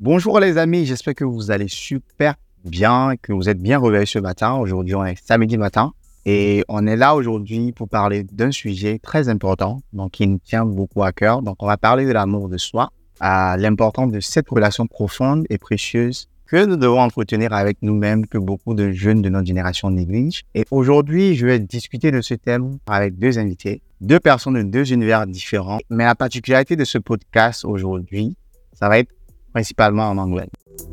Bonjour les amis, j'espère que vous allez super bien, que vous êtes bien réveillés ce matin. Aujourd'hui, on est samedi matin et on est là aujourd'hui pour parler d'un sujet très important, donc qui nous tient beaucoup à cœur. Donc, on va parler de l'amour de soi, l'importance de cette relation profonde et précieuse que nous devons entretenir avec nous-mêmes, que beaucoup de jeunes de notre génération négligent. Et aujourd'hui, je vais discuter de ce thème avec deux invités, deux personnes de deux univers différents. Mais la particularité de ce podcast aujourd'hui, ça va être principalement en anglais.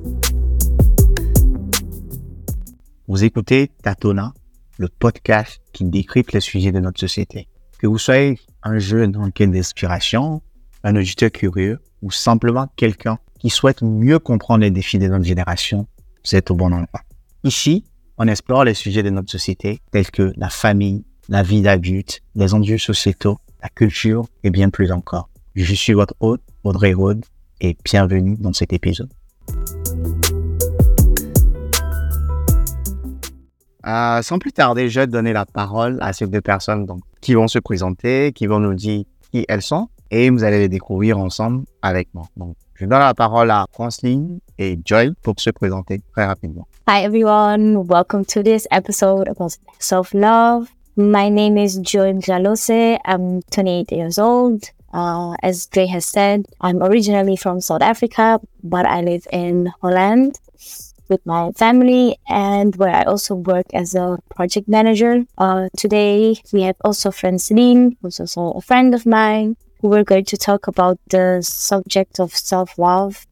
Vous écoutez Tatona, le podcast qui décrypte les sujets de notre société. Que vous soyez un jeune en quête d'inspiration, un auditeur curieux ou simplement quelqu'un qui souhaite mieux comprendre les défis de notre génération, vous êtes au bon endroit. Ici, on explore les sujets de notre société tels que la famille, la vie d'adulte, les enjeux sociétaux, la culture et bien plus encore. Je suis votre hôte, Audrey Rode, et bienvenue dans cet épisode. Sans plus tarder, je vais donner la parole à ces deux personnes qui vont se présenter, qui vont nous dire qui elles sont et vous allez les découvrir ensemble avec moi. Donc, je donne la parole à Franceline et Joy pour se présenter très rapidement. Hi everyone, welcome to this episode about self-love. My name is Joy Mjalose. I'm 28 years old. As Dre has said, I'm originally from South Africa, but I live in Holland with my family and where I also work as a project manager. Today, we have also Francine, who's also a friend of mine, who we're going to talk about the subject of self-love,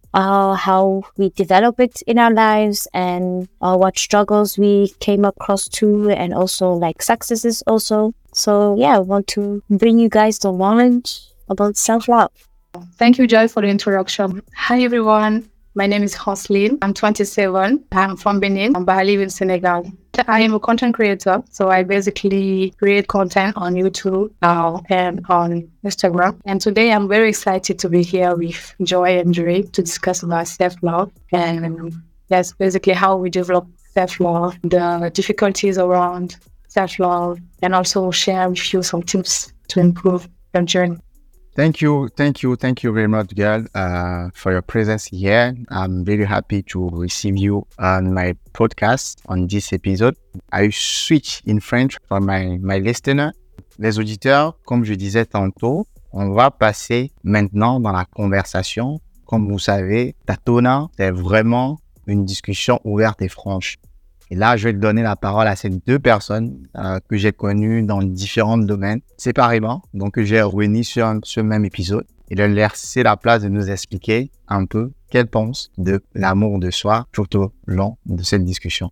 how we develop it in our lives and what struggles we came across to and also like successes also. So yeah, I want to bring you guys the knowledge about self-love. Thank you, Joy, for the introduction. Hi, everyone. My name is Hosline. I'm 27. I'm from Benin, but I live in Senegal. I am a content creator, so I basically create content on YouTube and on Instagram. And today I'm very excited to be here with Joy and Dre to discuss about self-love. And that's basically how we develop self-love, the difficulties around self-love, and also share with you some tips to improve your journey. Thank you very much, girl, for your presence here. I'm very happy to receive you on my podcast on this episode. I switch in French for my listener. Les auditeurs, comme je disais tantôt, on va passer maintenant dans la conversation. Comme vous savez, Tatona, c'est vraiment une discussion ouverte et franche. Et là, je vais donner la parole à ces deux personnes que j'ai connues dans différents domaines séparément, donc que j'ai réunis sur ce même épisode et de leur laisser la place de nous expliquer un peu qu'elles pensent de l'amour de soi tout au long de cette discussion.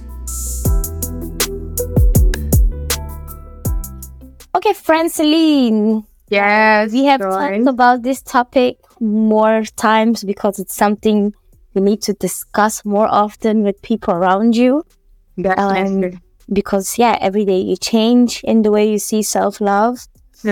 Okay, Francine. Yes, we have talked about this topic more times because it's something you need to discuss more often with people around you. Because every day you change in the way you see self-love.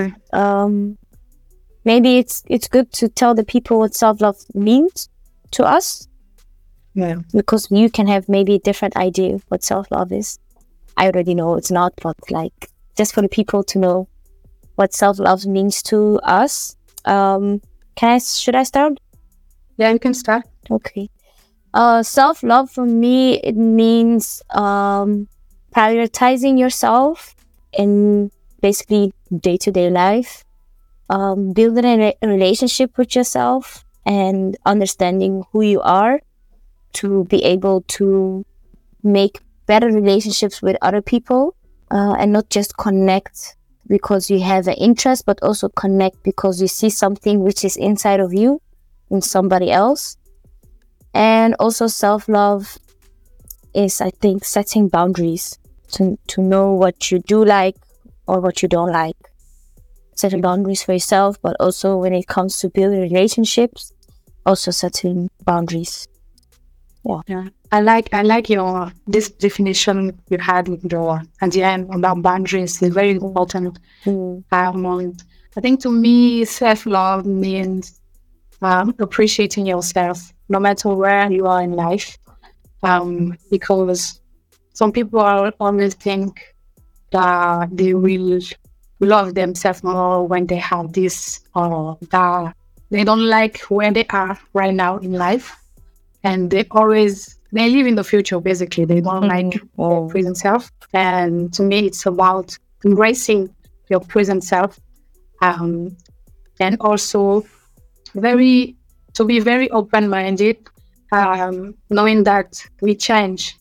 Maybe it's good to tell the people what self-love means to us. Yeah. Because you can have maybe a different idea of what self-love is. I already know it's not, but like just for the people to know what self-love means to us. Should I start? Yeah, you can start. Okay. Self-love for me, it means prioritizing yourself in basically day-to-day life, building a relationship with yourself and understanding who you are to be able to make better relationships with other people and not just connect because you have an interest, but also connect because you see something which is inside of you in somebody else. And also self-love is, I think, setting boundaries to know what you do like or what you don't like. Setting boundaries for yourself, but also when it comes to building relationships, also setting boundaries. Yeah. I like your this definition you had with your at the end about boundaries is very important. I think to me, self-love means appreciating yourself, no matter where you are in life. Because some people always think that they will love themselves more when they have this or that. They don't like where they are right now in life. and they live in the future. Basically, they don't like their present self. And to me, it's about embracing your present self, and also to be very open-minded, knowing that we change.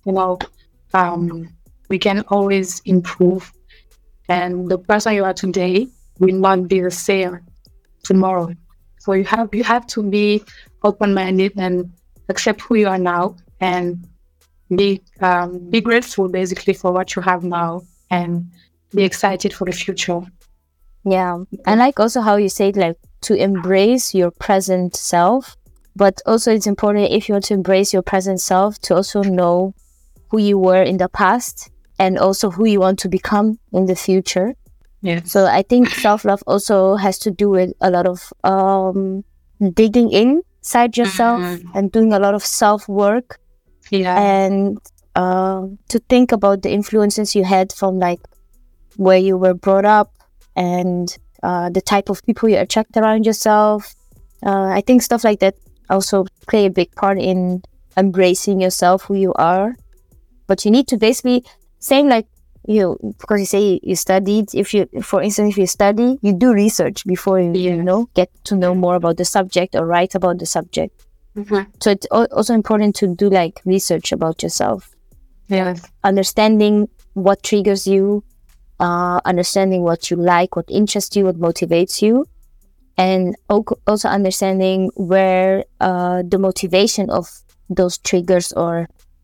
We can always improve, and the person you are today will not be the same tomorrow. So you have to be open-minded and accept who you are now, and be grateful basically for what you have now, and be excited for the future. Yeah, I like also how you say like to embrace your present self, but also it's important if you want to embrace your present self to also know who you were in the past and also who you want to become in the future. Yeah. So I think self-love also has to do with a lot of digging inside yourself and doing a lot of self-work. Yeah. And to think about the influences you had from like where you were brought up and the type of people you attract around yourself. I think stuff like that also play a big part in embracing yourself, who you are. But you need to basically, same like because you say you studied, for instance, if you study, you do research before you get to know more about the subject or write about the subject. Mm-hmm. So it's also important to do like research about yourself. Yes. Understanding what triggers you, understanding what you like, what interests you, what motivates you, and also understanding where the motivation of those triggers or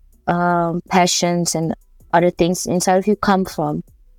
passions and other things inside of you come from.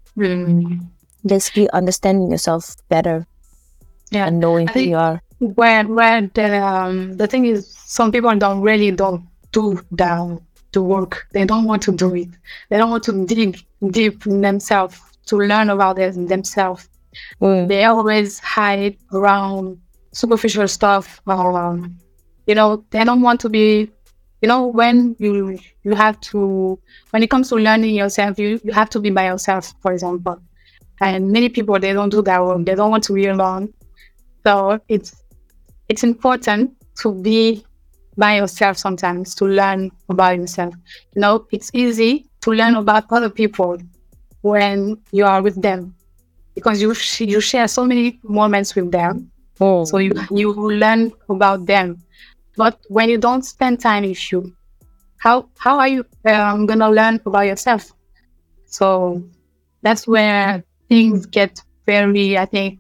Basically understanding yourself better and knowing who you are. Where the thing is, some people don't do the work. They don't want to do it. They don't want to dig deep in themselves to learn about themselves. They always hide around superficial stuff. They don't want to be. When you have to, when it comes to learning yourself, you have to be by yourself, for example. And many people, they don't do that work. They don't want to be alone. So it's important to be by yourself sometimes, to learn about yourself. It's easy to learn about other people when you are with them, because you share so many moments with them. So you learn about them. But when you don't spend time with you, how are you gonna learn about yourself? So that's where things get very, I think,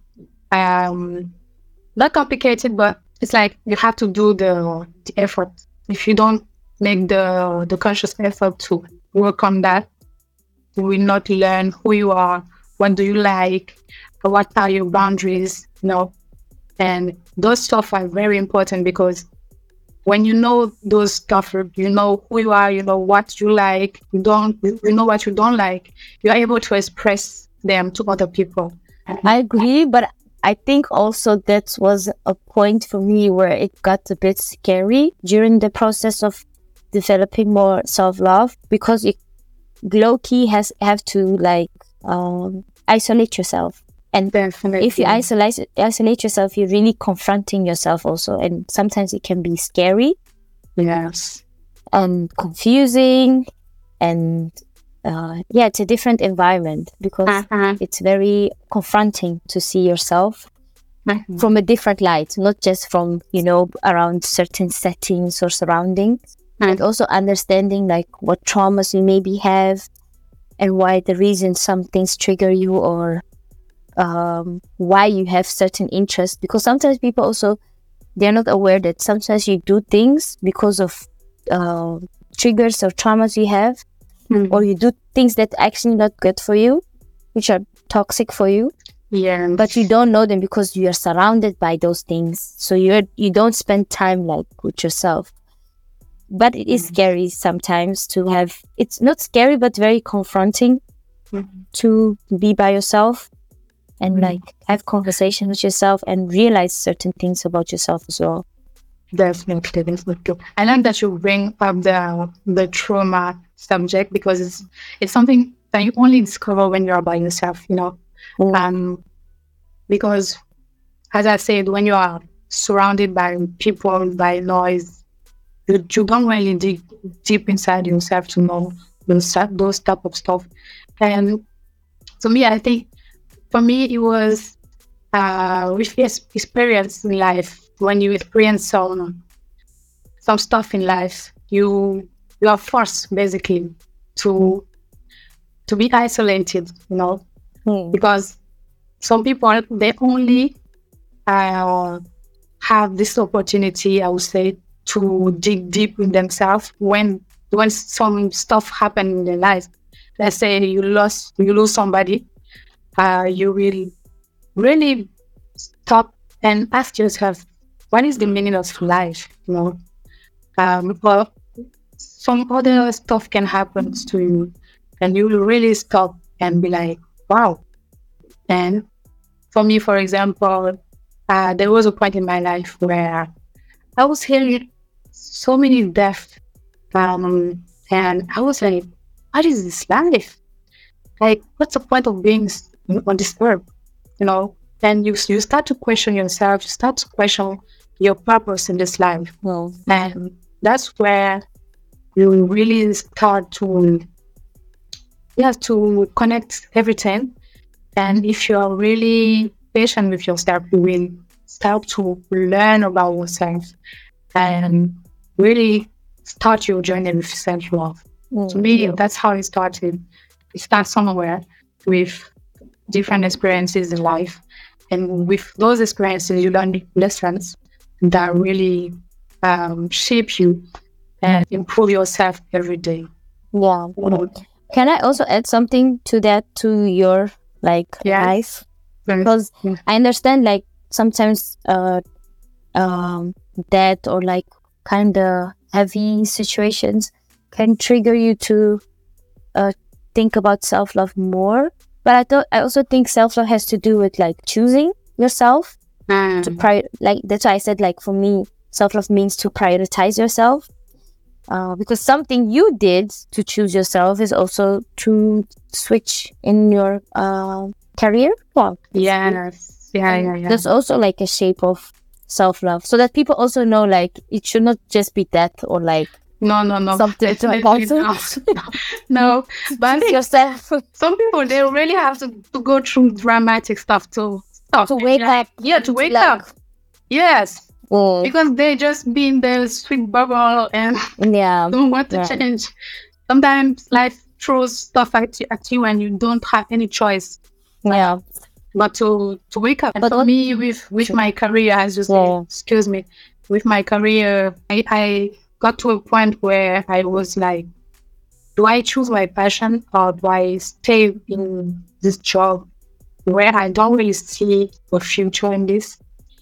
not complicated, but it's like you have to do the effort. If you don't make the conscious effort to work on that, you will not learn who you are, what do you like, what are your boundaries, and those stuff are very important, because when you know those stuff, you know who you are, you know what you like, you know what you don't like, you're able to express them to other people. I agree, but I think also that was a point for me where it got a bit scary during the process of developing more self-love, because you low-key have to like isolate yourself. And definitely, if you isolate yourself, you're really confronting yourself also. And sometimes it can be scary. Yes. And confusing. And it's a different environment, because it's very confronting to see yourself from a different light, not just from, around certain settings or surroundings. And also understanding like what traumas you maybe have and why the reason some things trigger you, or why you have certain interests. Because sometimes people also, they're not aware that sometimes you do things because of triggers or traumas you have, or you do things that actually not good for you, which are toxic for you. Yeah. But you don't know them because you are surrounded by those things. So you don't spend time like with yourself. But it is scary sometimes to have. It's not scary, but very confronting to be by yourself. And like have conversation with yourself and realize certain things about yourself as well. Definitely. I like that you bring up the trauma subject, because it's something that you only discover when you're by yourself, because as I said, when you are surrounded by people, by noise, you don't really dig deep inside yourself to know those type of stuff. And to me, I think for me it was with experience in life. When you experience some stuff in life, you are forced basically to be isolated, because some people, they only have this opportunity, I would say, to dig deep in themselves when some stuff happen in their life. Let's say you lose somebody, you will really stop and ask yourself, what is the meaning of life? But some other stuff can happen to you, and you will really stop and be like, wow. And for me, for example, there was a point in my life where I was hearing so many deaths, and I was like, what is this life? Like, what's the point of being on this earth? And you start to question yourself, you start to question your purpose in this life. Well, And that's where you really start to connect everything. And if you are really patient with yourself, you will start to learn about yourself and really start your journey with self-love. To me, that's how it started. It starts somewhere with different experiences in life. And with those experiences, you learn lessons that really shape you and improve yourself every day. yeah. Can I also add something to that, to your life? Because I understand sometimes death or kind of heavy situations can trigger you to think about self-love more. But I also think self-love has to do with choosing yourself to that's why I said for me, self-love means to prioritize yourself. Because something you did to choose yourself is also to switch in your career. Well, Yes. Yeah. That's also a shape of self-love, so that people also know it should not just be death or No. something to No. But choose yourself. some people, they really have to go through dramatic stuff to wake up. Yeah, to wake up. Yes. Because they just be in their sweet bubble and Yeah. don't want to change. Sometimes life throws stuff at you and you don't have any choice. Yeah. But to wake up. And But for me, with my career, as you say, excuse me, with my career, I got to a point where I was like, do I choose my passion or do I stay in this job where I don't really see a future in this?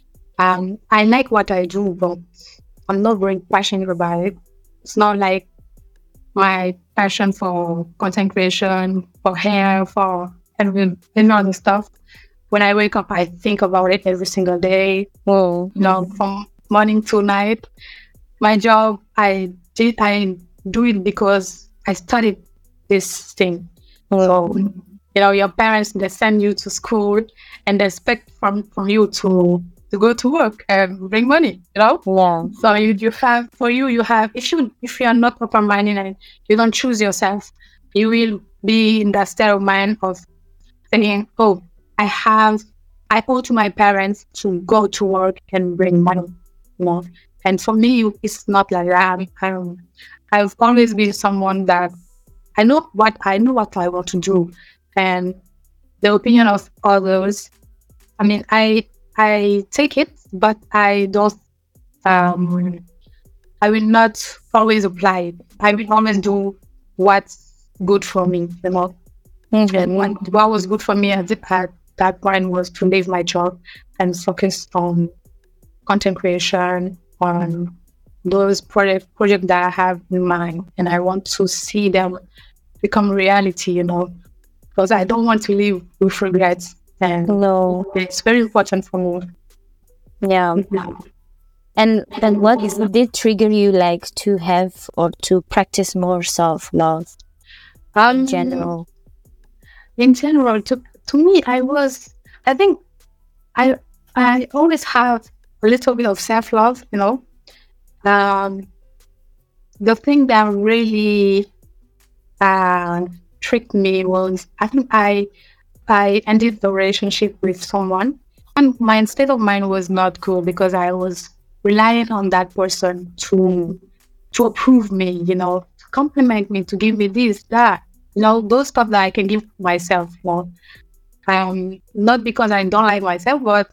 I like what I do, but I'm not very passionate about it. It's not like my passion for content creation, for hair, for any other stuff. When I wake up, I think about it every single day. From morning to night. My job, I do it because I studied this thing. So, your parents, they send you to school and they expect from you to go to work and bring money, Yeah. So you have, if you are not open-minded and you don't choose yourself, you will be in that state of mind of saying, oh, I owe to my parents to go to work and bring money, And for me, it's not like that. I've always been someone that I know what I want to do, and the opinion of others, I mean, I take it, but I don't. I will not always apply it. I will always do what's good for me, And what was good for me at that point was to leave my job and focus on content creation, on those projects that I have in mind, and I want to see them become reality, because I don't want to live with regrets. And it's very important for me. Yeah. And what did trigger you to have or to practice more self-love in general? In general, to me, I think I always have a little bit of self-love, the thing that really tricked me was, I think I ended the relationship with someone, and my state of mind was not good because I was relying on that person to approve me, to compliment me, to give me this, that, those stuff that I can give myself. Not because I don't like myself, but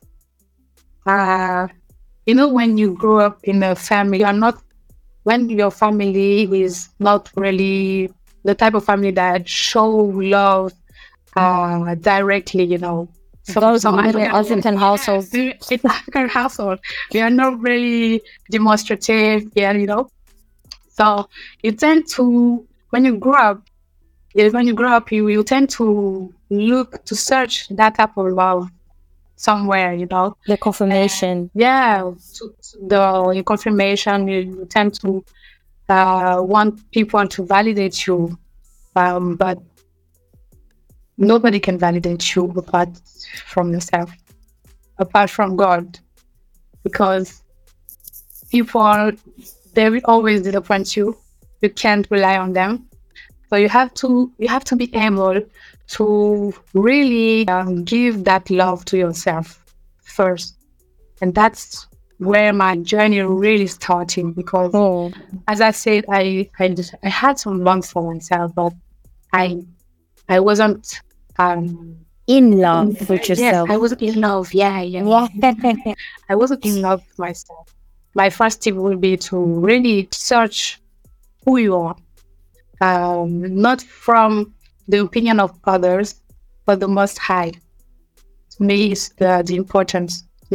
when you grow up in a family, when your family is not really the type of family that show love directly, African households. It's African household. We are not really demonstrative, So you tend to, when you grow up, you tend to look to search that type of love somewhere, The confirmation. The confirmation. You tend to want people to validate you, but nobody can validate you apart from yourself, apart from God, because people, they will always disappoint you. You can't rely on them, so you have to be able to really give that love to yourself first, and that's where my journey really started. Because, as I said, I had some love for myself, but I wasn't in love with yourself. Yes, I wasn't in love. Yeah. I wasn't in love with myself. My first tip would be to really search who you are, not from the opinion of others, but the Most High. To me, is the important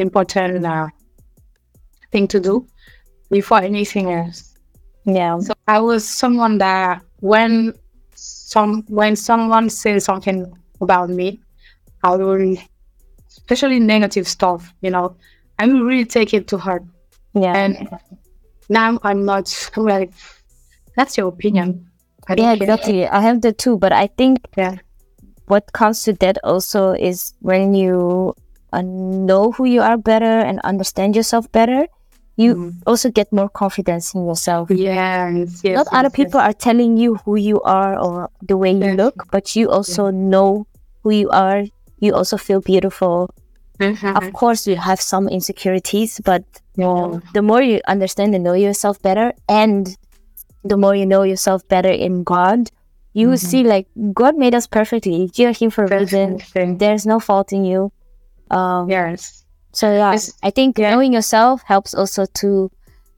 thing to do before anything else. Yeah. So I was someone that when someone says something about me, I will, especially negative stuff, I will really take it to heart. Yeah. And now I'm not like, that's your opinion. Exactly. I have that too, but I think what comes to that also is when you know who you are better and understand yourself better, you also get more confidence in yourself. Yes. Not other people are telling you who you are or the way you look, but you also know who you are. You also feel beautiful. Of course, you have some insecurities, but the more you understand and know yourself better, and the more you know yourself better in God, you will see like God made us perfectly. You're here for a reason. There's no fault in you. Yes. So I think knowing yourself helps also to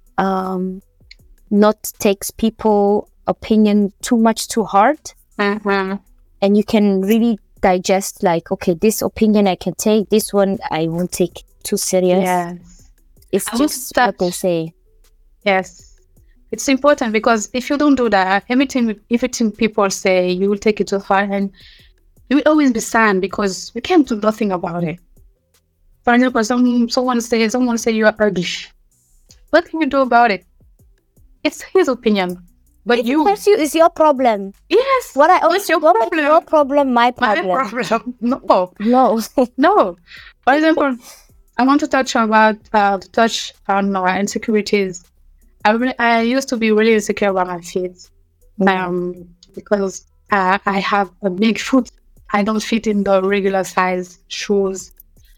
not take people's opinion too much to heart, and you can really digest like, okay, this opinion I can take, this one I won't take too serious. Yes. It's just what they say. Yes. It's important because if you don't do that, everything people say, you will take it to heart and you will always be sad because you can't do nothing about it. For example, someone say you are ugly. What can you do about it? It's his opinion. But It's your problem. Yes. What's your problem? Your problem, my problem. My problem. No. No. For example, I want to touch on our insecurities. I used to be really insecure about my feet, because I have a big foot. I don't fit in the regular size shoes.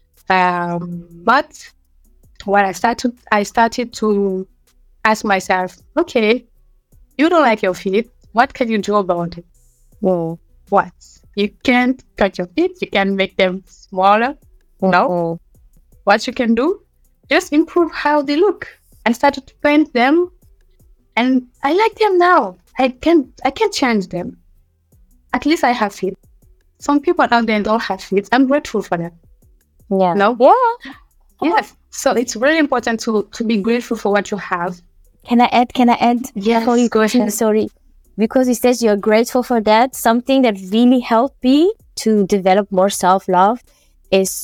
But when I started to ask myself, okay, you don't like your feet. What can you do about it? What? You can't cut your feet. You can make them smaller. No. What you can do? Just improve how they look. I started to paint them, and I like them now. I can't change them. At least I have feet. Some people out there don't have feet. I'm grateful for them. Yeah. No? Yeah. Yes. So it's really important to be grateful for what you have. Can I add? Yes, go ahead. Sorry. Because it says you're grateful for that. Something that really helped me to develop more self-love is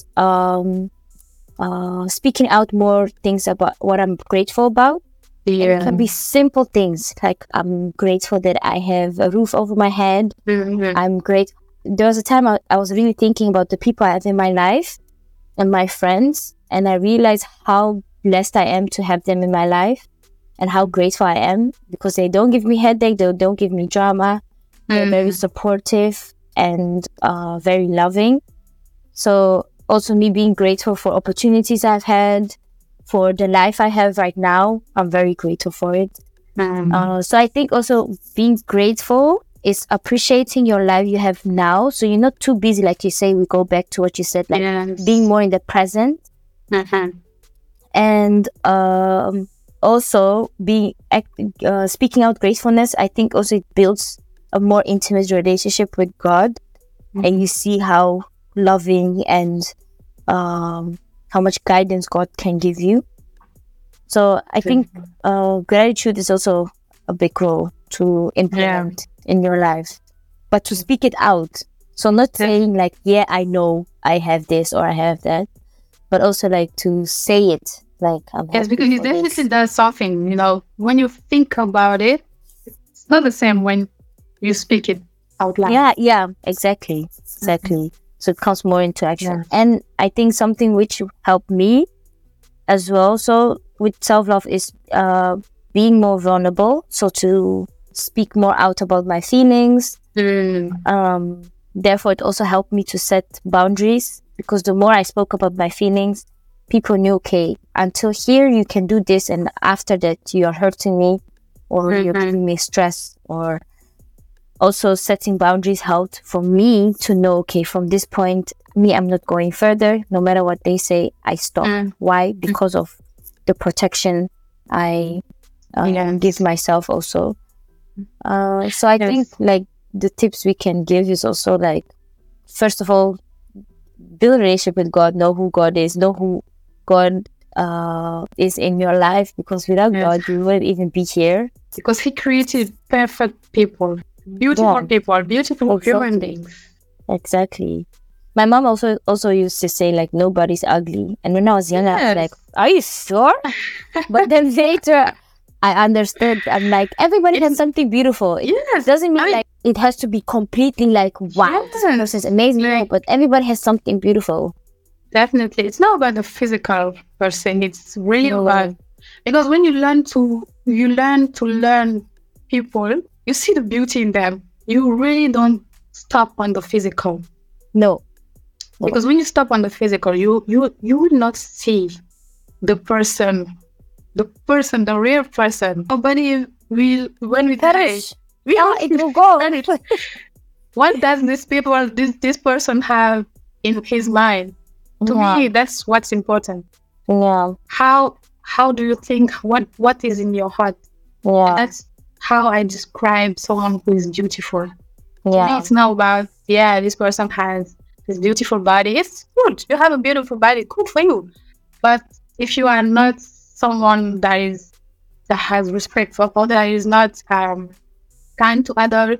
speaking out more things about what I'm grateful about. Yeah. It can be simple things like I'm grateful that I have a roof over my head. I'm grateful. There was a time I was really thinking about the people I have in my life and my friends, and I realized how blessed I am to have them in my life. and how grateful I am because they don't give me headache, they don't give me drama. They're very supportive and very loving. So also me being grateful for opportunities I've had, for the life I have right now. I'm very grateful for it. So I think also being grateful is appreciating your life you have now. So you're not too busy, like you say, we go back to what you said, like being more in the present. And also speaking out gratefulness, I think also it builds a more intimate relationship with God. And you see how loving and how much guidance God can give you. So I think gratitude is also a big role to implement in your life, but to speak it out. So not saying like, yeah, I know I have this or I have that, but also like to say it. Like, yes, because it definitely does something, you know, when you think about it, it's not the same when you speak it out loud. Yeah, exactly. So it comes more into action. And I think something which helped me as well, so with self-love, is being more vulnerable. So to speak more out about my feelings. Therefore, it also helped me to set boundaries, because the more I spoke about my feelings, people knew, okay, until here you can do this, and after that you are hurting me or you're giving me stress. Or also setting boundaries helped for me to know, okay, from this point, I'm not going further. No matter what they say, I stop. Why? Because of the protection I give myself also. So I think like the tips we can give is also like, first of all, build a relationship with God, know who God is, know who God is in your life, because without God, you wouldn't even be here. Because He created perfect people, beautiful people, beautiful human beings. Exactly. My mom also used to say like, nobody's ugly. And when I was young, I was like, are you sure? But then later, I understood. I'm like, everybody has something beautiful. It doesn't mean like it has to be completely like, wow, this person is amazing. Like, but everybody has something beautiful. Definitely. It's not about the physical person. It's really about, because when you learn to learn people, you see the beauty in them. You really don't stop on the physical. No. Because when you stop on the physical, you will not see the person, the real person. Nobody will, when we die, it will go. What does this person have in his mind? To me, that's what's important. Yeah. How do you think? What is in your heart? Yeah. And that's how I describe someone who is beautiful. Yeah. To me, it's not about, this person has this beautiful body. It's good. You have a beautiful body. Good for you. But if you are not someone that has respect for others, that is not kind to others,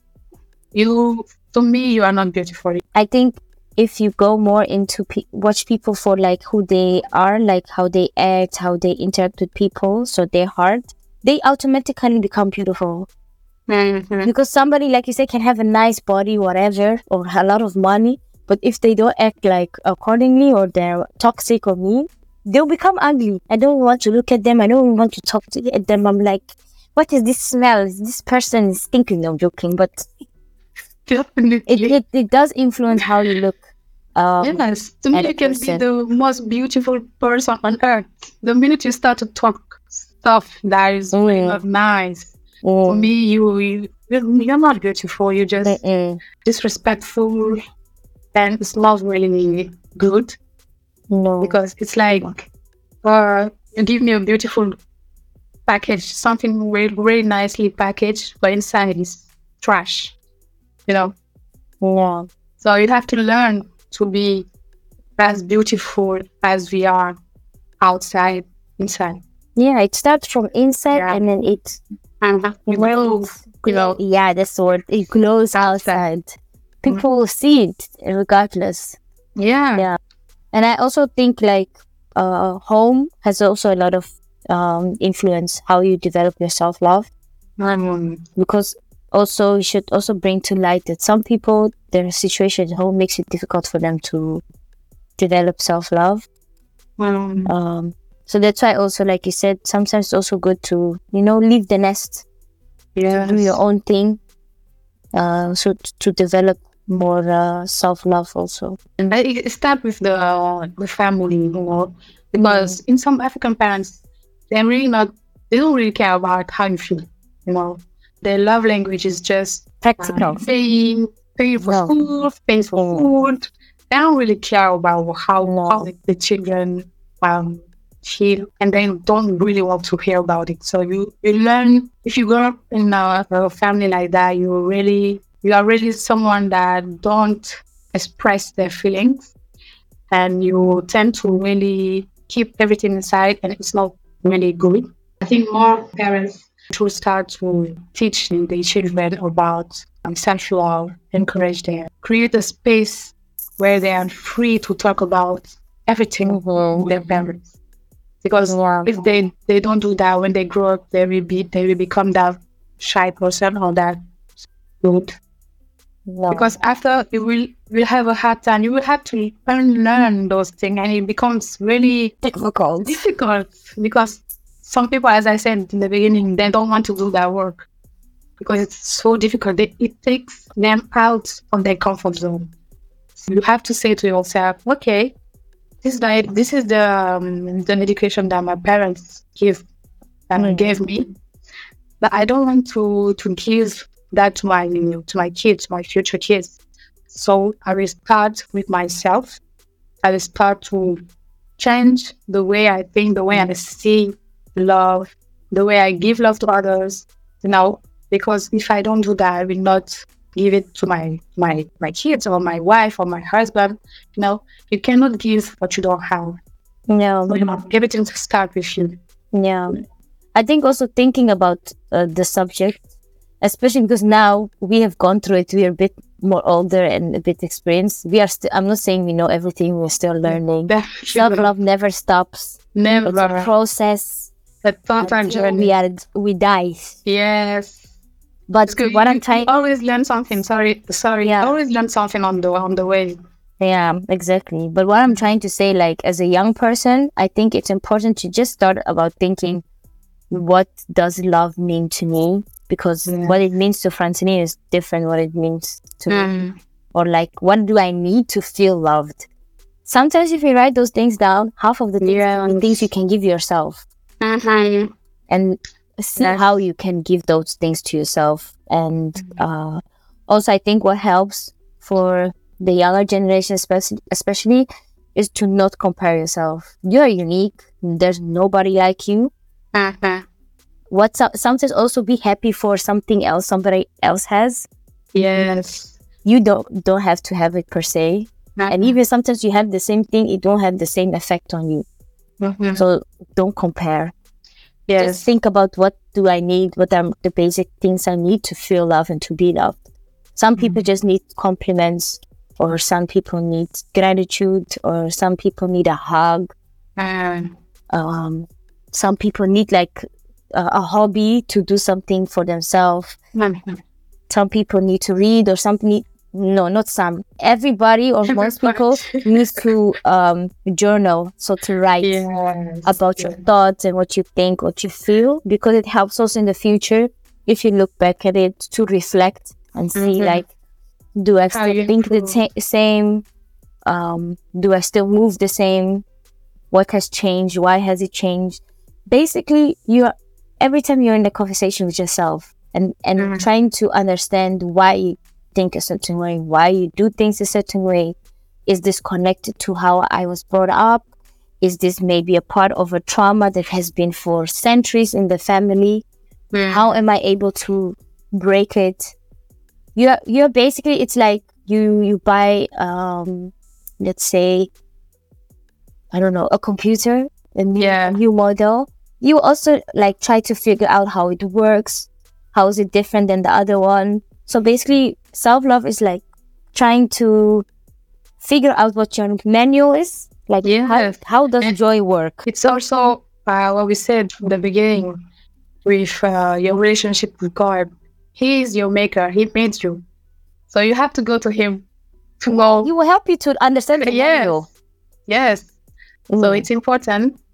to me, you are not beautiful. I think if you go more into watch people for like who they are, like how they act, how they interact with people, so their heart, they automatically become beautiful. Because somebody, like you say, can have a nice body, whatever, or a lot of money, but if they don't act like accordingly, or they're toxic or mean, they'll become ugly. I don't want to look at them. I don't want to talk to them. I'm like, what is this smell? This person is stinking. I'm joking, but it does influence how you look. Yes, to me, you can be the most beautiful person on earth. The minute you start to talk stuff that is really not nice, to me, you're not beautiful. You're just disrespectful, and it smells really good. No, because it's like you give me a beautiful package, something very, very nicely packaged, but inside is trash. Yeah. So you have to learn to be as beautiful as we are outside, inside. Yeah, it starts from inside and then it glows. Yeah, that's the word. It glows outside. People will see it regardless. Yeah. And I also think like home has also a lot of influence how you develop your self-love. Because also you should also bring to light that some people, their situation at home makes it difficult for them to develop self-love. So that's why also, like you said, sometimes it's also good to, leave the nest, Yes. do your own thing. So to develop more self-love also. And it start with the family, because in some African parents, they don't really care about how you feel, Their love language is just Practical. paying for No. school, paying for food. They don't really care about how the children feel, and they don't really want to hear about it. So you learn, if you grow up in a family like that, you are really someone that don't express their feelings, and you tend to really keep everything inside, and it's not really good. I think more parents should start to teach the children about self-love, encourage them, create a space where they are free to talk about everything with their parents. Because if they don't do that, when they grow up, they will become that shy person or that rude. No. Because after you will have a hard time, you will have to unlearn those things, and it becomes really difficult. Because some people, as I said in the beginning, they don't want to do that work because it's so difficult. It takes them out of their comfort zone. So you have to say to yourself, okay, this is the education that my parents gave me, but I don't want to give that to my kids, my future kids. So I will start with myself. I will start to change the way I think, the way I see love, the way I give love to others. Because if I don't do that, I will not give it to my kids or my wife or my husband. You cannot give what you don't have. No. So, everything to start with you. Yeah. I think also thinking about the subject, especially because now we have gone through it, we are a bit more older and a bit experienced. I'm not saying we know everything, we're still learning. Self-love never stops. Never. It's a process. But sometimes we die. Yes. But what I'm trying... always learn something. Sorry. Yeah. Always learn something on the way. Yeah, exactly. But what I'm trying to say, like, as a young person, I think it's important to just start about thinking, what does love mean to me? Because what it means to Francine is different what it means to me. Or like, what do I need to feel loved? Sometimes if you write those things down, half of the things you can give yourself. And see how you can give those things to yourself. And also I think what helps for the younger generation especially is to not compare yourself. You are unique. There's nobody like you. Sometimes also be happy for something else somebody else has. Yes. You don't have to have it per se. And even sometimes you have the same thing, it don't have the same effect on you. So don't compare. Yes. Just think about, what do I need? What are the basic things I need to feel loved and to be loved? Some people just need compliments, or some people need gratitude, or some people need a hug. Some people need like a hobby to do something for themselves. Some people need to read, or something. No, not some. Everybody or most people needs to journal, so to write about your thoughts and what you think, what you feel, because it helps us in the future, if you look back at it, to reflect and see like, do I still think the same? Do I still move the same? What has changed? Why has it changed? Basically, every time you're in the conversation with yourself and trying to understand why you think a certain way, why you do things a certain way. Is this connected to how I was brought up? Is this maybe a part of a trauma that has been for centuries in the family? How am I able to break it? You're basically, it's like you buy let's say, I don't know, a computer, a new model. You also like try to figure out how it works. How is it different than the other one? So basically, self-love is like trying to figure out what your manual is. Like, how does joy work? It's also what we said from the beginning with your relationship with God. He is your maker. He made you. So you have to go to him to know. He will help you to understand the manual. Yes. So it's important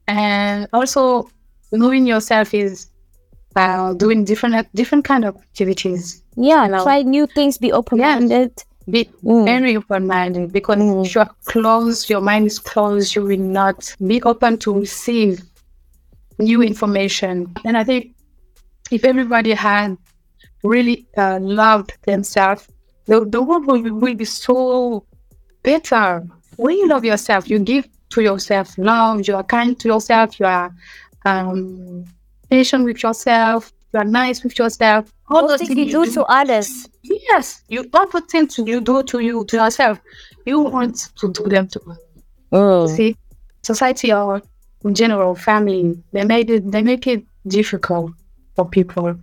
And also, knowing yourself is doing different kind of activities. Yeah, You know? try new things, be open-minded. Be very open-minded, because if you are closed, your mind is closed, you will not be open to receive new information. And I think if everybody had really loved themselves, the world will be so better. When you love yourself, you give to yourself love, you are kind to yourself, you are patient with yourself, you are nice with yourself. All those things you do to others. Yes, all the things you do to yourself, you want to do them to others. See, society or in general, family, they make it difficult for people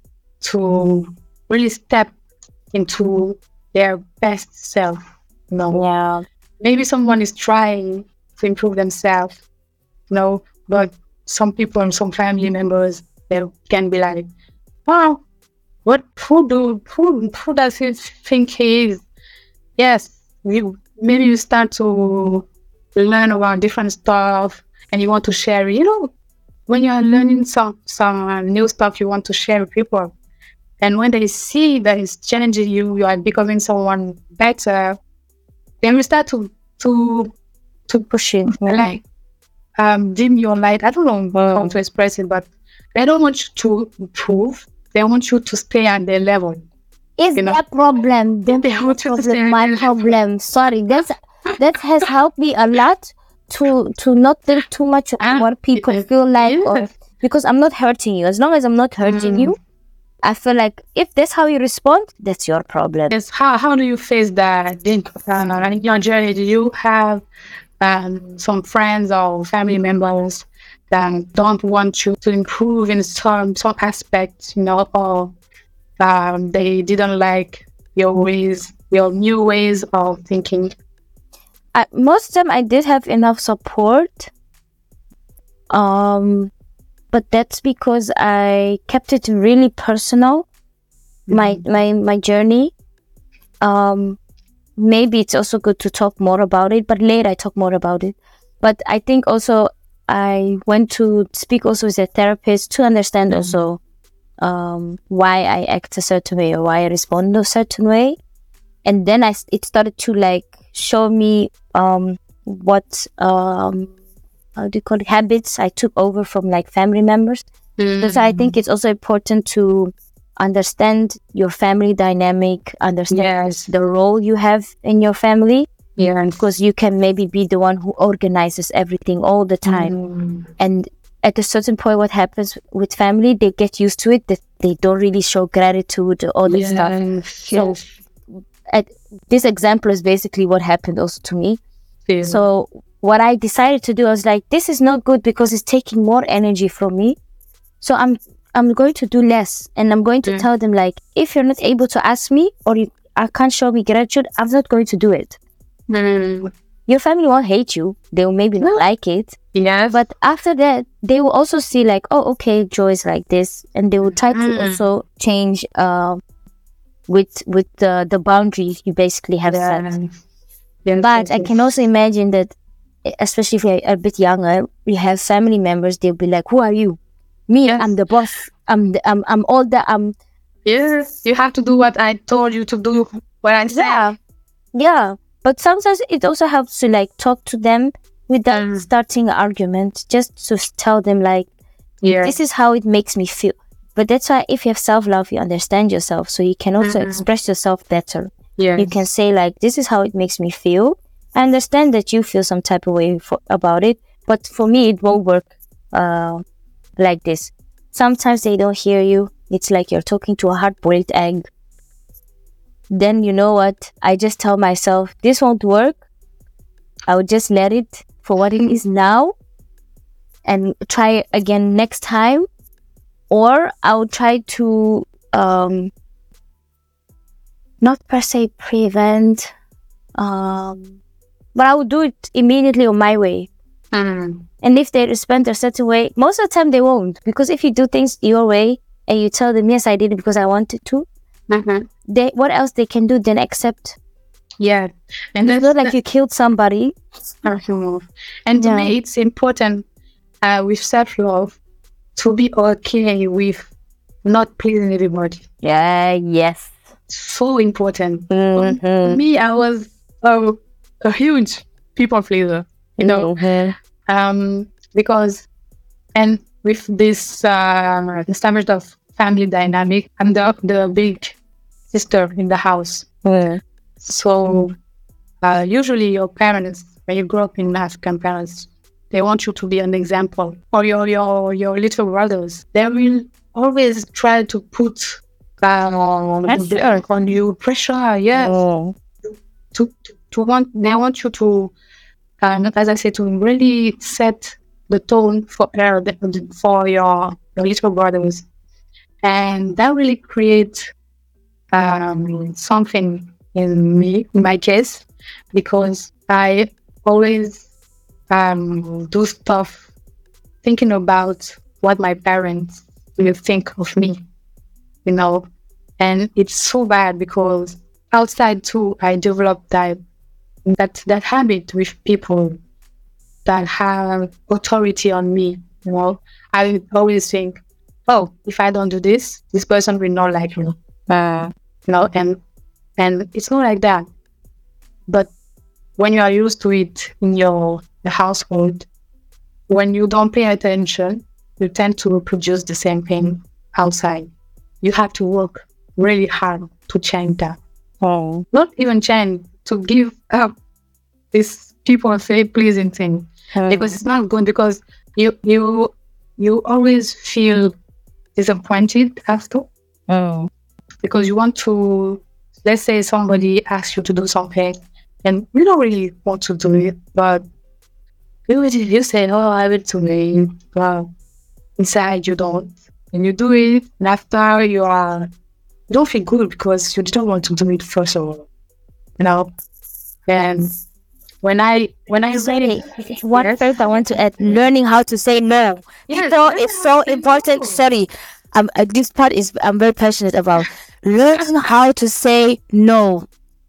to really step into their best self. Yeah. Maybe someone is trying to improve themselves, but some people and some family members, they can be like, wow, who does he think he is? Yes, maybe you start to learn about different stuff and you want to share it. When you are learning some new stuff, you want to share with people. And when they see that it's challenging you, you are becoming someone better, then we start to push it. Like dim your light. I don't know how to express it, but they don't want you to improve. They want you to stay at their level. Is their problem? Then they want you to stay my problem. Sorry, that has helped me a lot to not think too much of what people feel like, or, because I'm not hurting you. As long as I'm not hurting you, I feel like if that's how you respond, that's your problem. Yes. How do you face that? In your journey, do you have some friends or family members that don't want you to improve in some aspects, or they didn't like your new ways of thinking? Most of them, I did have enough support. But that's because I kept it really personal, my journey. Maybe it's also good to talk more about it, but later I talk more about it. But I think also I went to speak also with a therapist to understand also why I act a certain way or why I respond a certain way. And then it started to show me what how do you call it, habits I took over from family members. Because I think it's also important to understand your family dynamic, understand the role you have in your family. Yeah, because you can maybe be the one who organizes everything all the time. And at a certain point, what happens with family, they get used to it, that they don't really show gratitude or all this stuff. So this example is basically what happened also to me. Yeah. So what I decided to do, I was like, this is not good because it's taking more energy from me. So I'm going to do less, and I'm going to tell them if you're not able to ask me or I can't show me gratitude, I'm not going to do it. Your family won't hate you. They will maybe not like it. Yeah. But after that, they will also see oh, okay, Joy is like this, and they will try to also change with the boundaries you basically have set. But I can also imagine that, especially if you're a bit younger, you have family members. They'll be like, "Who are you? Me, I'm the boss. I'm older. Yes, you have to do what I told you to do. What I said. Yeah. But sometimes it also helps to talk to them without starting an argument. Just to tell them this is how it makes me feel. But that's why if you have self-love, you understand yourself, so you can also express yourself better. Yes. You can say this is how it makes me feel. I understand that you feel some type of way about it, but for me it won't work like this. Sometimes they don't hear you. It's like you're talking to a hard-boiled egg. Then you know what? I just tell myself, this won't work. I would just let it for what it is now and try again next time. Or I would try to not per se prevent, but I would do it immediately on my way. And if they respond a certain way, most of the time they won't. Because if you do things your way and you tell them, yes, I did it because I wanted to, what else they can do than accept? Yeah. And it's not like you killed somebody. And to me, it's important with self-love, to be okay with not pleasing everybody. Yeah, yes. So important. Mhm. Me, I was a huge people pleaser, because, and with this established of family dynamic, I'm the big sister in the house. Mm. So usually your parents, when you grow up in African parents, they want you to be an example. Or your little brothers, they will always try to put on you pressure. Yes, Oh. they want you to, as I said, to really set the tone for your little brothers, and that really creates something in me, in my case, because I always do stuff thinking about what my parents will think of me, and it's so bad because outside too, I developed that habit with people that have authority on me. I always think, oh, if I don't do this, this person will not like me. And it's not like that. But when you are used to it in your household, when you don't pay attention, you tend to reproduce the same thing outside. You have to work really hard to change that. Oh. Not even change, to give up this people say pleasing thing, because it's not good, because you always feel disappointed after. Because you want to, let's say somebody asks you to do something and you don't really want to do it, but you say, oh, I will do it, but inside you don't, and you do it, and after you don't feel good because you didn't want to do it first of all, and when I Sorry, one first I want to add, learning how to say no. Yes, So it's so important. Sorry, this part is I'm very passionate about learning how to say no.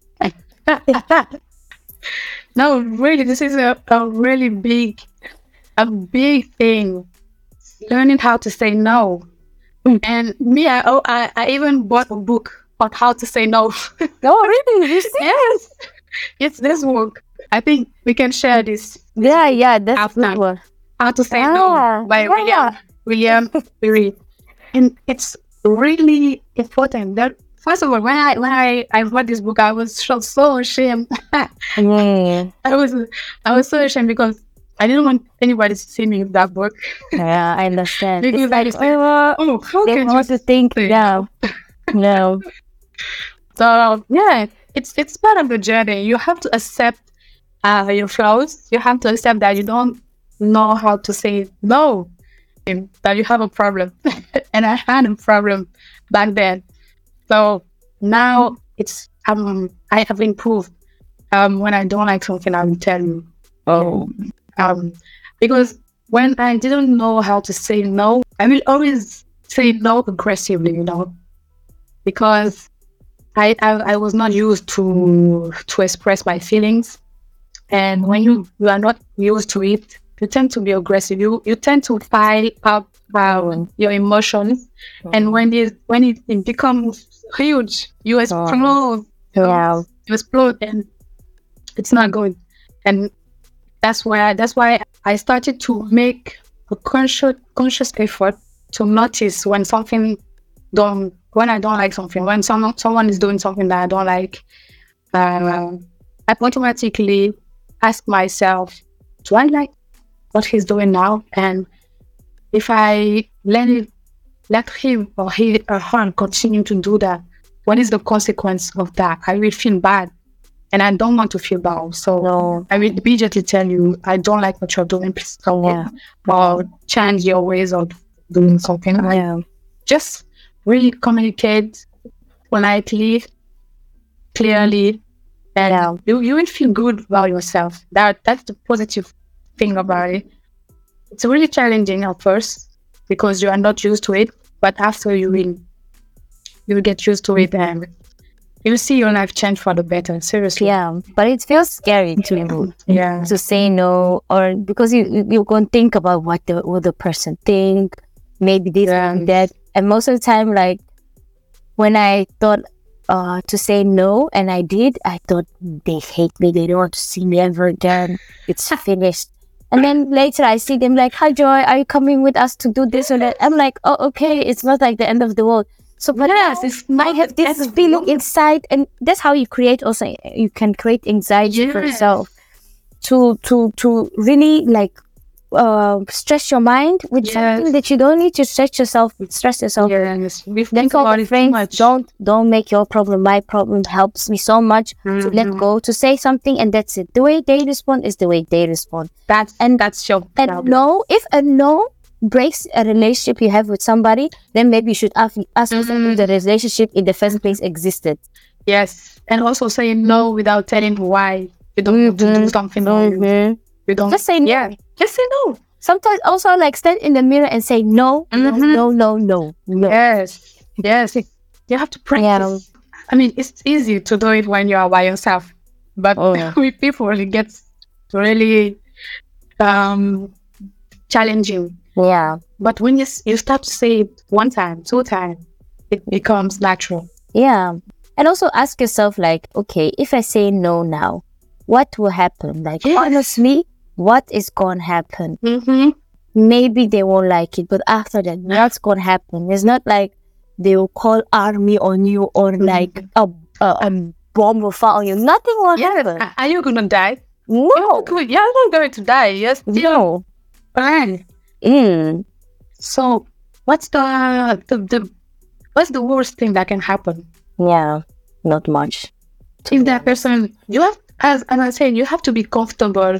No, really, this is a really big thing. Learning how to say no. And me, I even bought a book on how to say no. Oh, really? Yes, it's this book. I think we can share this. Yeah, that's After. good one. How to Say No by William Ury. And it's really important. That first of all, when I read this book, I was so ashamed. I was so ashamed because I didn't want anybody to see me with that book. Yeah, I understand. Because It's like, how they can want you to think, say yeah. No. So yeah, it's part of the journey. You have to accept your flaws. You have to accept that you don't know how to say no, and that you have a problem. And I had a problem back then. So now it's I have improved. When I don't like something, I will tell you. Oh. Because when I didn't know how to say no, I will always say no aggressively, because I was not used to express my feelings. And when you are not used to it, you tend to be aggressive. You tend to pile up your emotions, and when it becomes huge, you explode. Yeah. You explode, and it's not good. And that's why I started to make a conscious effort to notice when I don't like something, when someone is doing something that I don't like. I automatically ask myself, do I like what he's doing now? And if I let him or her continue to do that, what is the consequence of that? I will feel bad, and I don't want to feel bad. So I will immediately tell you, I don't like what you're doing. Please stop, or change your ways of doing something. Just really communicate politely, clearly, and you will feel good about yourself. That's the positive thing about it. It's really challenging at first because you are not used to it, but after you will get used to it, and you'll see your life change for the better. Seriously. Yeah, but it feels scary to say no, or because you go and think about what the person think, maybe this and that, and most of the time, like when I thought to say no, and I did, I thought they hate me, they don't want to see me ever again. It's finished. And then later I see them like, "Hi Joy, are you coming with us to do this or that?" I'm like, "Oh, okay, it's not like the end of the world." So, but I have this feeling inside, and that's how you create. Also, you can create anxiety for yourself to really like stress your mind with something that you don't need to stress yourself. Then call your friends. Don't make your problem my problem. Helps me so much to let go, to say something, and that's it. The way they respond is the way they respond. That's your problem. And no, if a no breaks a relationship you have with somebody, then maybe you should ask yourself if the relationship in the first place existed. Yes, and also saying no without telling why you don't want to do something. You don't just say no. Yeah, just say no. Sometimes also like stand in the mirror and say no, no. Yes. You have to practice. Yeah. I mean, it's easy to do it when you are by yourself, but with people, it gets really challenging. Yeah. But when you start to say it 1 time, 2 times, it becomes natural. Yeah. And also ask yourself, like, okay, if I say no now, what will happen? Like, honestly, what is going to happen? Maybe they won't like it, but after that, what's going to happen? It's not like they will call army on you, or like a bomb will fall on you. Nothing will happen. Are you going to die? No. You're not going to die. Yes. No. Fine. So what's the worst thing that can happen? Yeah, not much. If that person, you have, as I said, you have to be comfortable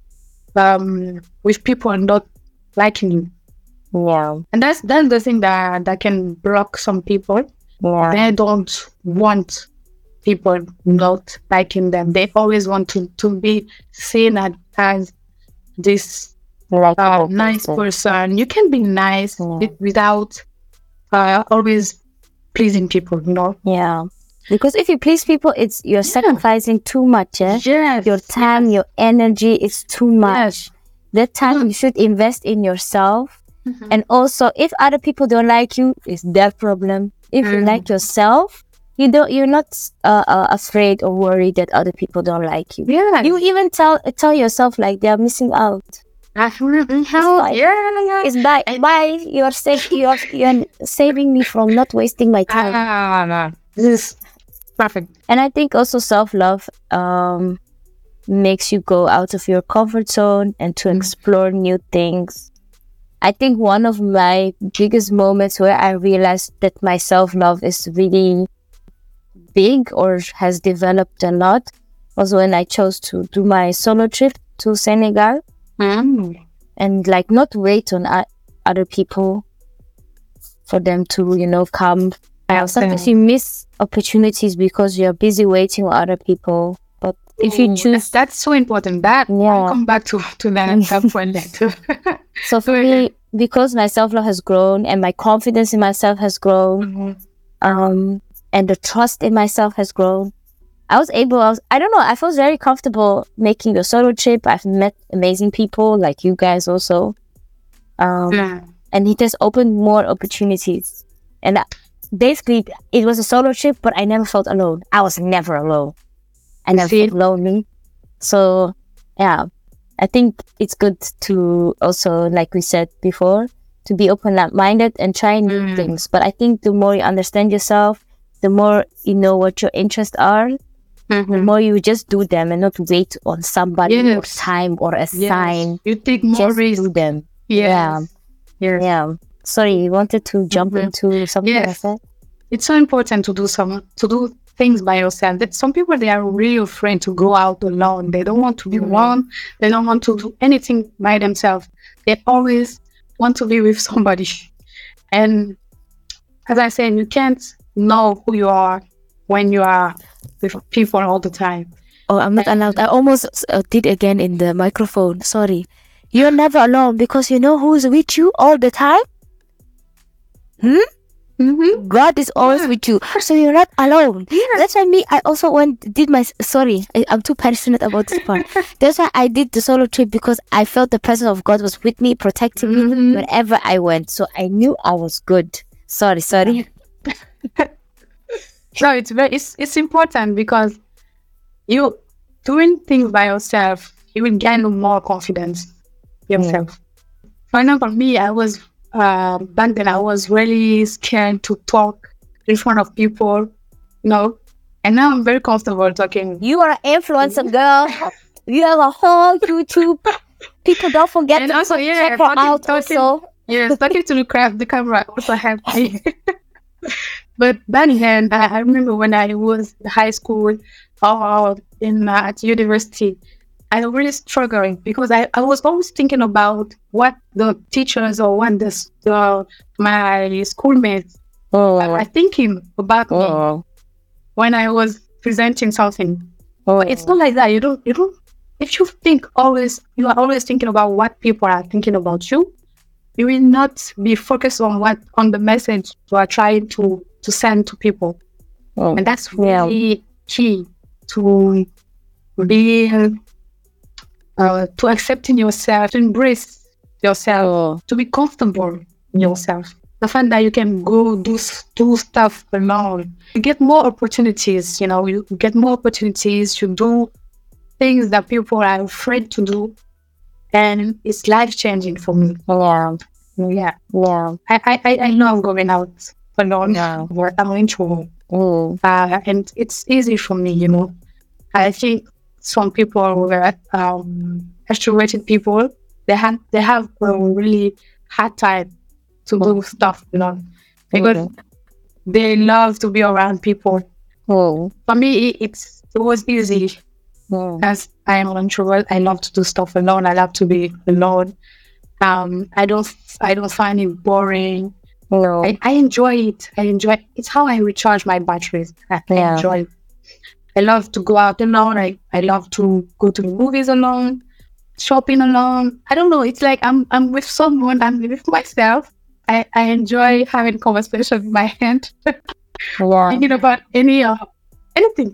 with people not liking you. Yeah. And that's the thing that can block some people. Yeah. They don't want people not liking them. They always want to be seen as this nice person. You can be nice without always pleasing people, you know? Yeah. Because if you please people, you're sacrificing too much. Yes. Your time, your energy is too much. Yes. That time you should invest in yourself. And also, if other people don't like you, it's their problem. If you like yourself, you're not afraid or worried that other people don't like you. Yeah. You even tell yourself like they're missing out. It's bye. You're saving me from not wasting my time. This is perfect. And I think also self-love makes you go out of your comfort zone and to explore new things. I think one of my biggest moments where I realized that my self-love is really big or has developed a lot was when I chose to do my solo trip to Senegal. And like not wait on other people for them to, come. Sometimes you miss opportunities because you're busy waiting on other people. But if you choose... That's so important. I'll come back to that at some point later. So for me, because my self-love has grown and my confidence in myself has grown, and the trust in myself has grown, I felt very comfortable making the solo trip. I've met amazing people like you guys also. And it has opened more opportunities. And basically, it was a solo trip, but I never felt alone. I was never alone. I never felt lonely. So, yeah, I think it's good to also, like we said before, to be open-minded and try new things. But I think the more you understand yourself, the more you know what your interests are, the more you just do them and not wait on somebody or time or a sign. You take more risks. Do them. Yes. Yeah. Sorry, you wanted to jump into something like that? It's so important to do things by yourself. That some people, they are really afraid to go out alone. They don't want to be alone. They don't want to do anything by themselves. They always want to be with somebody. And as I said, you can't know who you are when you are with people all the time. Oh, I'm not allowed. I almost did again in the microphone. Sorry. You're never alone because you know who's with you all the time? God is always with you, so you're not alone. That's why I also I'm too passionate about this part. That's why I did the solo trip, because I felt the presence of God was with me, protecting me wherever I went. So I knew I was good. Sorry. No, it's important, because you doing things by yourself, you will gain more confidence yourself. For example, me, I was back then I was really scared to talk in front of people, and now I'm very comfortable talking. You are an influencer, girl. You have a whole YouTube. People don't forget And to also, check her out also. Yes, talking to the camera also helped me. But back then, I remember when I was in high school or at university, I was really struggling, because I was always thinking about what the teachers or what my schoolmates are thinking about me when I was presenting something. It's not like that. You don't. If you are always thinking about what people are thinking about you, you will not be focused on the message you are trying to send to people. And that's really key to be to accepting yourself, to embrace yourself, to be comfortable in yourself. The fact that you can go do stuff alone, you get more opportunities. You get more opportunities to do things that people are afraid to do, and it's life changing for me. Yeah. I love going out alone. Where I'm introvert, and it's easy for me. I think some people who are extroverted people, they have a really hard time to do stuff, because they love to be around people. For me, it was easy, as I am an introvert. I love to do stuff alone. I love to be alone. I don't find it boring. I enjoy it. It's how I recharge my batteries. I enjoy it. I love to go out alone. I love to go to the movies alone, shopping alone. I don't know. It's like I'm with someone. I'm with myself. I enjoy having conversation in my head, thinking about anything.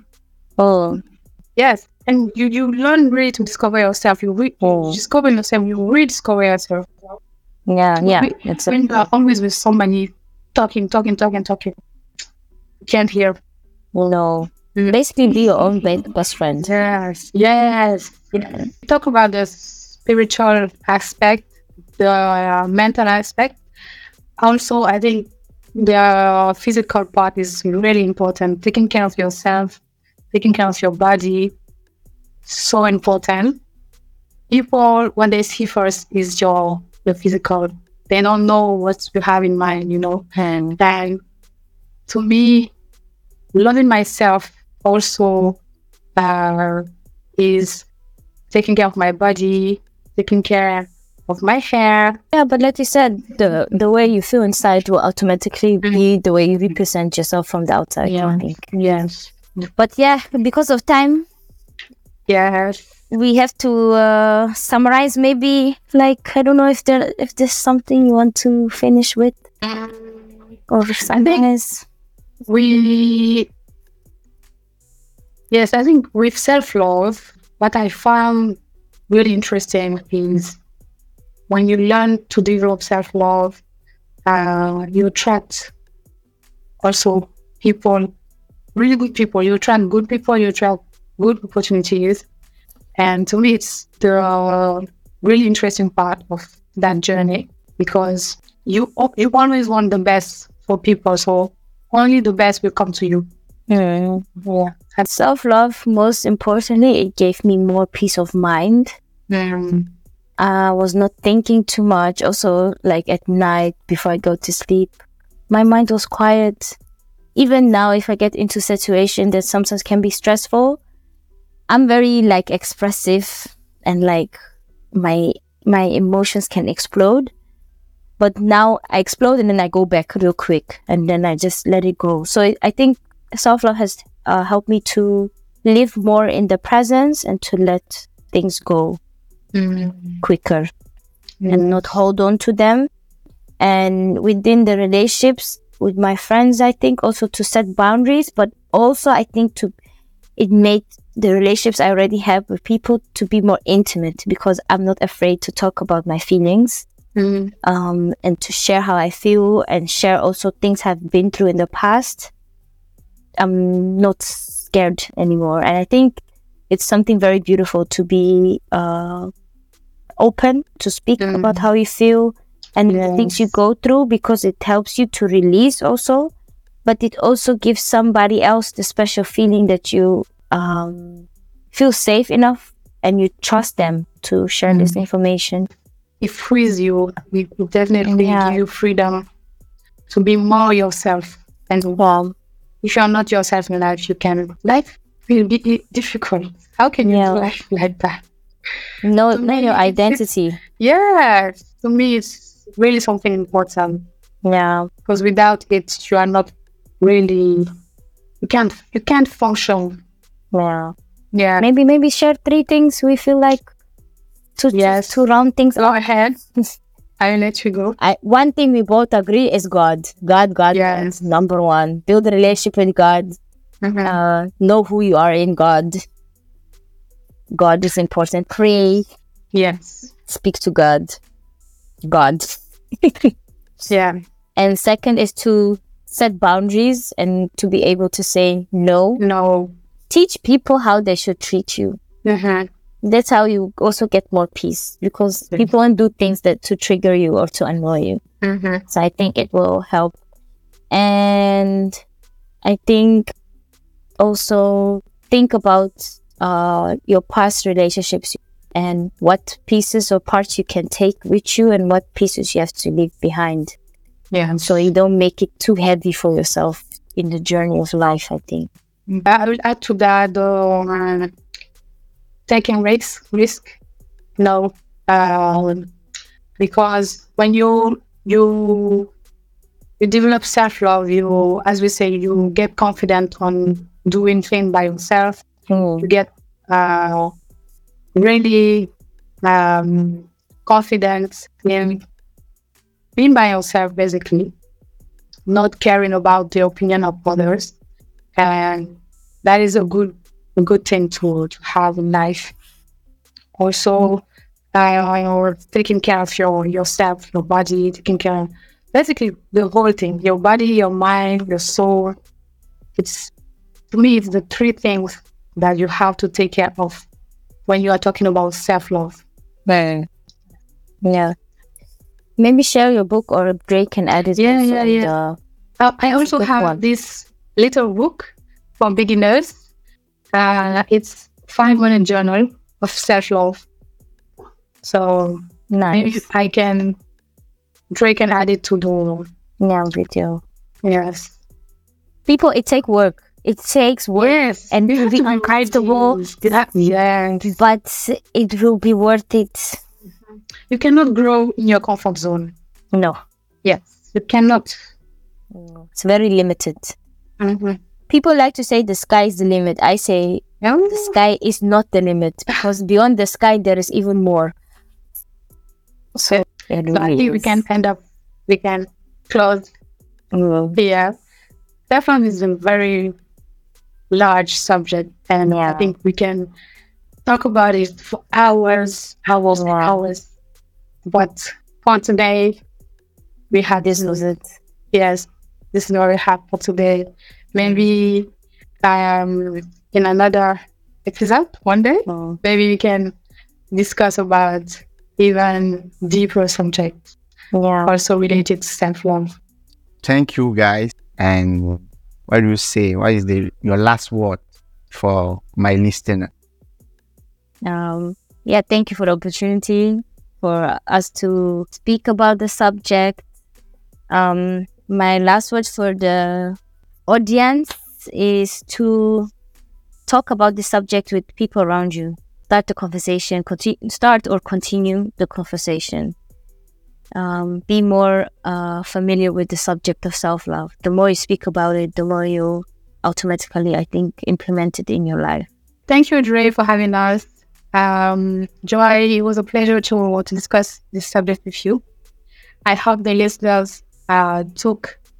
Yes, and you learn really to discover yourself. You discover yourself. You rediscover yourself. When you are always with somebody talking, you can't hear. Basically, be your own best friend. Yes. Talk about the spiritual aspect, the mental aspect. Also, I think the physical part is really important. Taking care of yourself, taking care of your body, so important. People, when they see first, is the physical. They don't know what you have in mind, And then, to me, loving myself also is taking care of my body, taking care of my hair. Yeah, but like you said, the way you feel inside will automatically be the way you represent yourself from the outside. I think. Yes. But because of time, we have to summarize. Maybe, like, I don't know if there's something you want to finish with, or something else. I think with self-love, what I found really interesting is when you learn to develop self-love, you attract also people, really good people. You attract good people, you attract good opportunities. And to me, it's the really interesting part of that journey, because you always want the best for people. So only the best will come to you. And self-love, most importantly, it gave me more peace of mind. I was not thinking too much. Also, like at night before I go to sleep, my mind was quiet. Even now, if I get into a situation that sometimes can be stressful, I'm very like expressive, and like my emotions can explode. But now I explode and then I go back real quick, and then I just let it go. So I think self-love has helped me to live more in the presence and to let things go quicker and not hold on to them. And within the relationships, with my friends, I think also to set boundaries, but also I think it made the relationships I already have with people to be more intimate, because I'm not afraid to talk about my feelings, and to share how I feel and share also things I've been through in the past. I'm not scared anymore. And I think it's something very beautiful to be open, to speak about how you feel and the things you go through, because it helps you to release also. But it also gives somebody else the special feeling that you feel safe enough and you trust them to share this information. It frees you. It definitely give you freedom to be more yourself. And if you're not yourself in life, life will be difficult. How can you do life like that? No, your identity. To me, it's really something important. Yeah. Because without it, you are not really, you can't function. Yeah. Yeah. Maybe share 3 things we feel like to round things Go ahead. I'll let you go. One thing we both agree is God. God is number one. Build a relationship with God. Know who you are in God. God is important. Pray. Yes. Speak to God. Yeah. And second is to set boundaries and to be able to say no. No. Teach people how they should treat you. That's how you also get more peace, because people won't do things to trigger you or to annoy you. So I think it will help. And I think also think about your past relationships and what pieces or parts you can take with you and what pieces you have to leave behind. Yeah. So you don't make it too heavy for yourself in the journey of life, I think. I will add to that taking risk. No, because when you develop self-love, as we say, you get confident on doing things by yourself. You get really confident in being by yourself, basically, not caring about the opinion of others, and that is a good thing to have in life. Also, you're taking care of yourself, your body, taking care of basically the whole thing: your body, your mind, your soul. To me, it's the 3 things that you have to take care of when you are talking about self-love. Yeah. Maybe share your book, or Drake can add it. I also have this little book for beginners. It's 5-minute journal of self-love. So maybe Drake can add it to the video. Yes. People, it takes work. It takes work. Yes. And it will be uncomfortable. Yes. But it will be worth it. You cannot grow in your comfort zone. No. Yes. You cannot. It's very limited. People like to say the sky is the limit. I say the sky is not the limit, because beyond the sky there is even more. So I think we can close here. Self-love is a very large subject, and I think we can talk about it for hours. But for today, we had this was it. Yes, this is what we have for today. Maybe in another episode one day, maybe we can discuss about even deeper subjects, also related to self-love. Thank you, guys. And what do you say? What is your last word for my listener? Thank you for the opportunity for us to speak about the subject. My last word for the audience is to talk about the subject with people around you. Start the conversation, start or continue the conversation. Be more familiar with the subject of self-love. The more you speak about it, the more you automatically, I think, implement it in your life. Thank you, Dre, for having us. Joy, it was a pleasure to discuss this subject with you. I hope the listeners took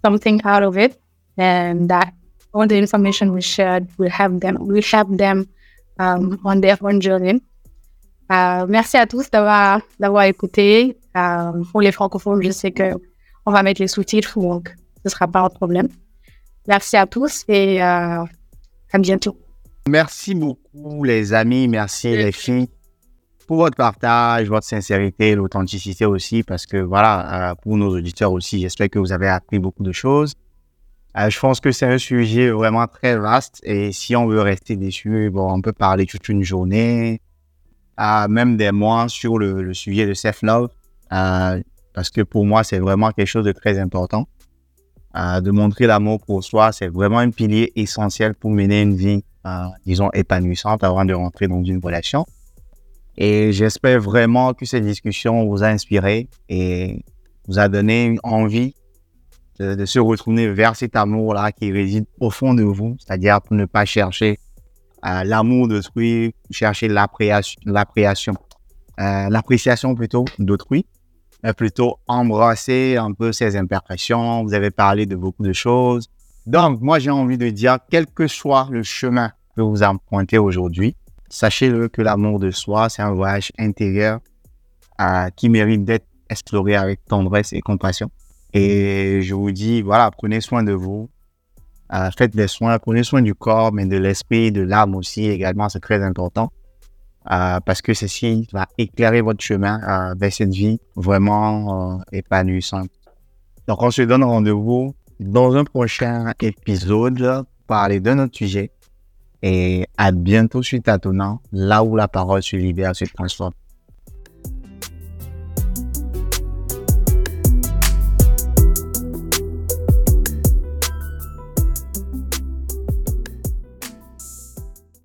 something out of it, and that all the information we shared will help them on their own journey. Merci à tous d'avoir écouté. Pour les francophones, je sais que on va mettre les sous-titres, donc ce sera pas un problème. Merci à tous et à bientôt. Merci beaucoup les amis, merci les filles pour votre partage, votre sincérité, l'authenticité aussi, parce que voilà, pour nos auditeurs aussi, j'espère que vous avez appris beaucoup de choses. Je pense que c'est un sujet vraiment très vaste et si on veut rester dessus, bon, on peut parler toute une journée, même des mois sur le sujet de self-love, parce que pour moi, c'est vraiment quelque chose de très important. De montrer l'amour pour soi, c'est vraiment un pilier essentiel pour mener une vie, disons, épanouissante avant de rentrer dans une relation. Et j'espère vraiment que cette discussion vous a inspiré et vous a donné envie de se retourner vers cet amour-là qui réside au fond de vous, c'est-à-dire pour ne pas chercher l'amour d'autrui, chercher l'appréciation plutôt d'autrui, mais plutôt embrasser un peu ses imperfections. Vous avez parlé de beaucoup de choses. Donc, moi, j'ai envie de dire, quel que soit le chemin que vous empruntez aujourd'hui, sachez-le que l'amour de soi, c'est un voyage intérieur qui mérite d'être exploré avec tendresse et compassion. Et je vous dis, voilà, prenez soin de vous, faites des soins, prenez soin du corps, mais de l'esprit, de l'âme aussi également, c'est très important. Parce que ceci va éclairer votre chemin vers cette vie vraiment épanouissante. Donc, on se donne rendez-vous dans un prochain épisode pour parler d'un autre sujet. Et à bientôt sur Tâtonnant, là où la parole se libère, se transforme.